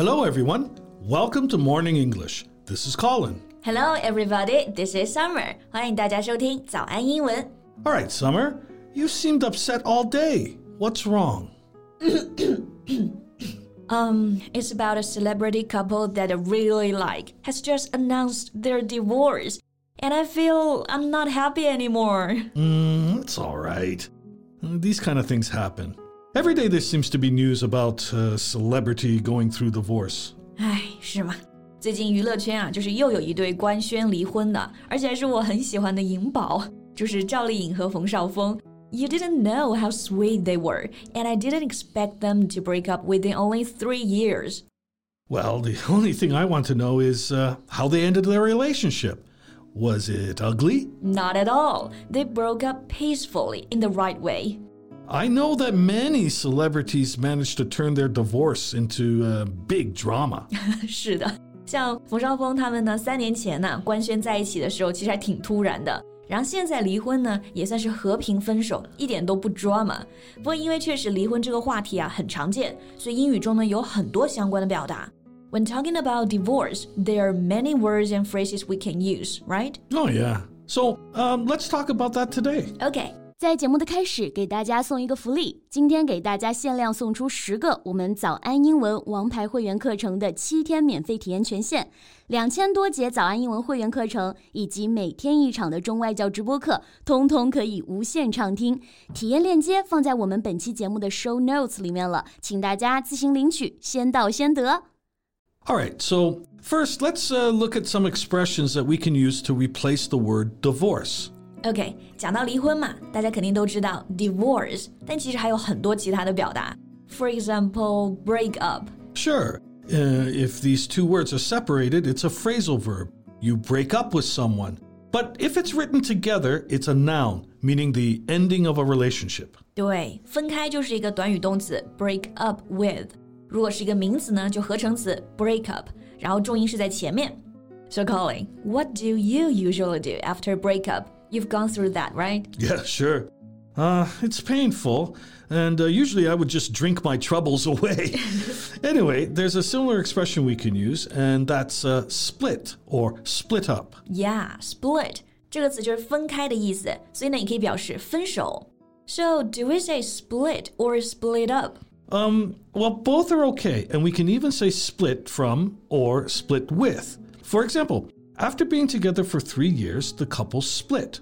Hello, everyone. Welcome to Morning English. This is Colin. Hello, everybody. This is Summer. 欢迎大家收听早安英文。 All right, Summer. You seemed upset all day. What's wrong? It's about a celebrity couple that I really like has just announced their divorce. And I feel I'm not happy anymore. It's all right. These kind of things happen. Every day there seems to be news about a celebrity going through divorce. 唉，是吗？最近娱乐圈就是又有一对官宣离婚的，而且还是我很喜欢的颖宝，就是赵丽颖和冯绍峰。You didn't know how sweet they were, and I didn't expect them to break up within only 3 years. Well, the only thing I want to know is how they ended their relationship. Was it ugly? Not at all. They broke up peacefully in the right way. I know that many celebrities managed to turn their divorce into a big drama. 是的，像冯绍峰他们呢，3年前呢官宣在一起的时候，其实还挺突然的。然后现在离婚呢，也算是和平分手，一点都不 drama。不过因为确实离婚这个话题很常见，所以英语中呢有很多相关的表达。When talking about divorce, there are many words and phrases we can use, right? Oh, yeah. So, let's talk about that today. Okay. 在节目的开始，给大家送一个福利。今天给大家限量送出10个我们早安英文王牌会员课程的7天免费体验权限，2000多节早安英文会员课程以及每天1场的中外教直播课，通通可以无限畅听。体验链接放在我们本期节目的 show notes 里面了，请大家自行领取，先到先得。 All right, so first, let's look at some expressions that we can use to replace the word divorce.OK, 讲到离婚嘛，大家肯定都知道 divorce, 但其实还有很多其他的表达。For example, break up. Sure. If these two words are separated, it's a phrasal verb. You break up with someone. But if it's written together, it's a noun, meaning the ending of a relationship. 对，分开就是一个短语动词 break up with. 如果是一个名词呢，就合成词 break up, 然后重音是在前面。So Colin, what do you usually do after a breakup?You've gone through that, right? Yeah, sure. It's painful, and usually I would just drink my troubles away. Anyway, there's a similar expression we can use, and that's split or split up. Yeah, split. 这个词就是分开的意思，所以呢，也可以表示分手。So, do we say split or split up? Well, both are okay, and we can even say split from or split with. For example,After being together for 3 years, the couple split.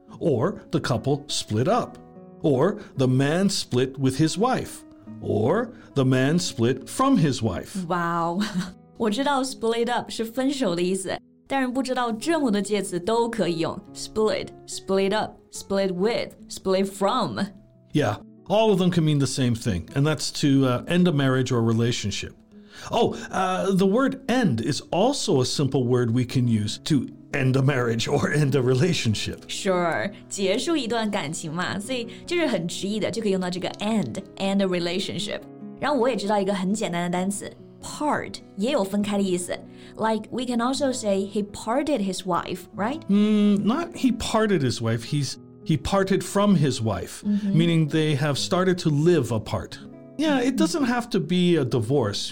Or the couple split up. Or the man split with his wife. Or the man split from his wife. Wow, 我知道 split up 是分手的意思，但是不知道这么多介词都可以用 split, split up, split with, split from. Yeah, all of them can mean the same thing, and that's to end a marriage or relationship.Oh, the word end is also a simple word we can use to end a marriage or end a relationship. Sure, 结束一段感情嘛，所以就是很直译的，就可以用到这个 end a relationship. 然后我也知道一个很简单的单词 part 也有分开的意思 Like we can also say he parted his wife, right? Not he parted his wife, he parted from his wife, meaning they have started to live apart.Yeah, it doesn't have to be a divorce,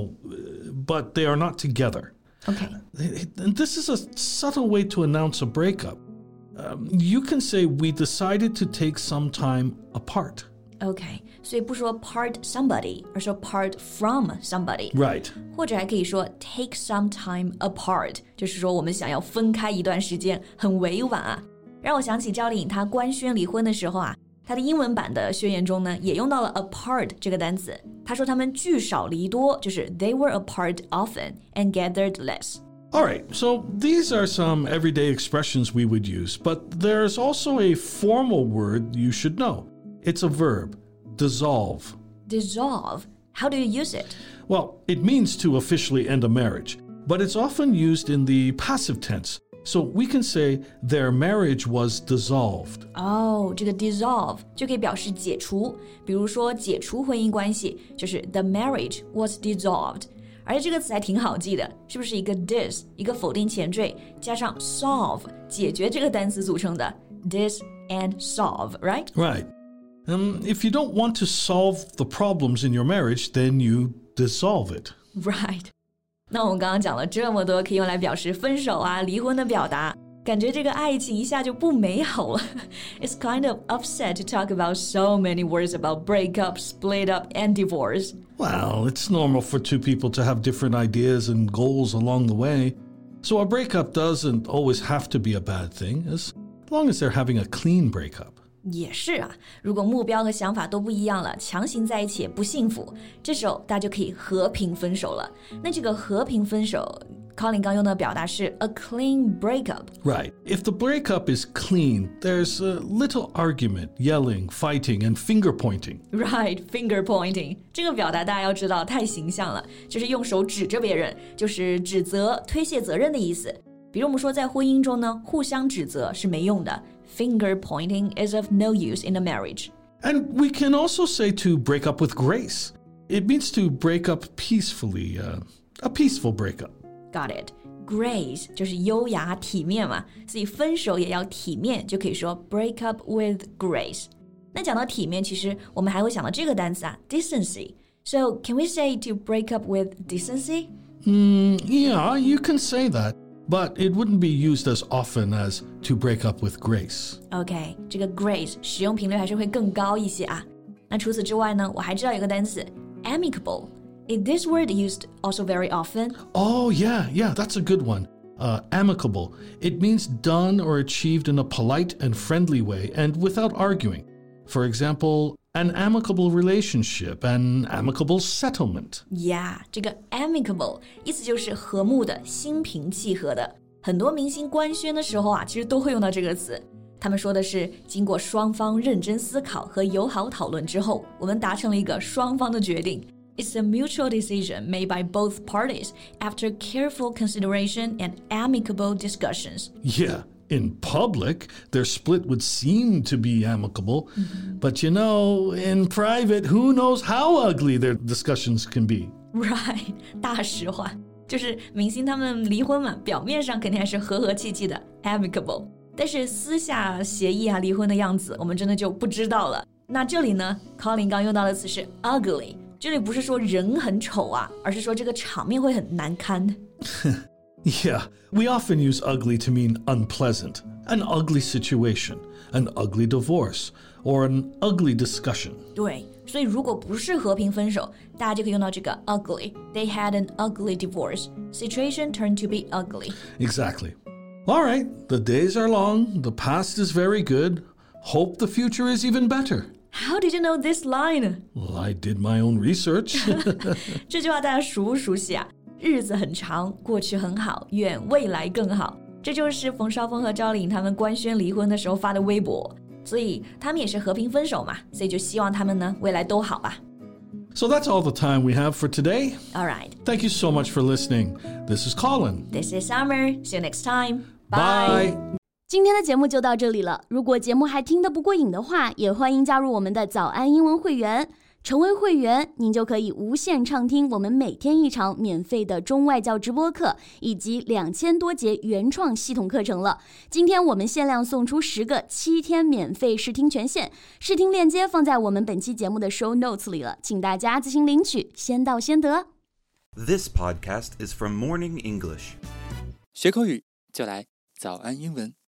but they are not together. Okay. And this is a subtle way to announce a breakup. You can say, we decided to take some time apart. Okay, 所以不说 part somebody, 而说 part from somebody. Right. 或者还可以说 take some time apart, 就是说我们想要分开一段时间，很委婉啊。让我想起赵丽颖她官宣离婚的时候他的英文版的宣言中呢，也用到了 apart 这个单词。他说他们聚少离多，就是 they were apart often and gathered less. All right, so these are some everyday expressions we would use, but there's also a formal word you should know. It's a verb, dissolve. Dissolve? How do you use it? Well, it means to officially end a marriage, but it's often used in the passive tense.So we can say their marriage was dissolved. 这个 dissolve 就可以表示解除，比如说解除婚姻关系，就是 the marriage was dissolved. 而且这个词还挺好记的，是不是一个 dis 一个否定前缀加上 solve 解决这个单词组成的 dis and solve, right? Right. If you don't want to solve the problems in your marriage, then you dissolve it. Right. 那我们刚刚讲了这么多可以用来表示分手啊、离婚的表达，感觉这个爱情一下就不美好了。It's kind of upset to talk about so many words about breakup, split up, and divorce. Well, it's normal for two people to have different ideas and goals along the way. So a breakup doesn't always have to be a bad thing, as long as they're having a clean breakup. 也是啊，如果目标和想法都不一样了，强行在一起也不幸福，这时候大家就可以和平分手了。那这个和平分手 Colin 刚用的表达是 a clean breakup. Right. If the breakup is clean, there's a little argument, yelling, fighting, and finger pointing. Right, finger pointing. 这个表达大家要知道太形象了，就是用手指着别人，就是指责、推卸责任的意思。比如我们说在婚姻中呢，互相指责是没用的。Finger pointing is of no use in a marriage. And we can also say to break up with grace. It means to break up peacefully, a peaceful breakup. Got it. Grace 就是优雅体面嘛，所以分手也要体面，就可以说 break up with grace. 那讲到体面，其实我们还会想到这个单词啊 decency. So can we say to break up with decency? Yeah, you can say that, but it wouldn't be used as often as to break up with grace. OK, 这个 grace 使用频率还是会更高一些啊。那除此之外呢，我还知道有个单词 amicable.Is this word used also very often? Oh, yeah, that's a good one. Amicable. It means done or achieved in a polite and friendly way and without arguing. For example, an amicable relationship, an amicable settlement. Yeah, 这个 amicable 意思就是和睦的、心平气和的。很多明星官宣的时候啊，其实都会用到这个词。他们说的是，经过双方认真思考和友好讨论之后，我们达成了一个双方的决定。It's a mutual decision made by both parties after careful consideration and amicable discussions. Yeah, in public, their split would seem to be amicable. But you know, in private, who knows how ugly their discussions can be. Right, 大实话，就是明星他们离婚嘛，表面上肯定还是和和气气的 amicable， 但是私下协议啊离婚的样子，我们真的就不知道了。那这里呢 Colin 刚用到的词是 ugly，这里不是说人很丑啊，而是说这个场面会很难堪。 Yeah, we often use ugly to mean unpleasant, an ugly situation, an ugly divorce, or an ugly discussion. 对，所以如果不是和平分手，大家就可以用到这个 ugly. They had an ugly divorce. Situation turned to be ugly. Exactly. All right, the days are long, the past is very good. Hope the future is even better.How did you know this line? Well, I did my own research. 这句话大家熟不熟悉啊？日子很长，过去很好，愿未来更好。这就是冯绍峰和赵丽颖他们官宣离婚的时候发的微博，所以他们也是和平分手嘛，所以就希望他们呢未来都好吧。 So that's all the time we have for today. All right. Thank you so much for listening. This is Colin. This is Summer. See you next time. Bye. 今天的节目就到这里了。如果节目还听得不过瘾的话，也欢迎加入我们的早安英文会员。成为会员，您就可以无限畅听我们每天一场免费的中外教直播课，以及2000多节原创系统课程了。今天我们限量送出10个7天免费试听权限，试听链接放在我们本期节目的 show notes 里了，请大家自行领取，先到先得。 This podcast is from Morning English. 学口语就来早安英文。